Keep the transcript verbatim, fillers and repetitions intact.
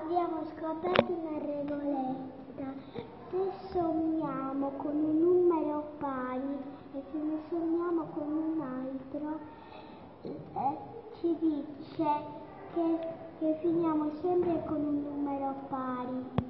abbiamo scoperto una regoletta. Se sommiamo con un numero pari e se ne sommiamo con un altro, eh, ci dice che, che finiamo sempre con un numero pari.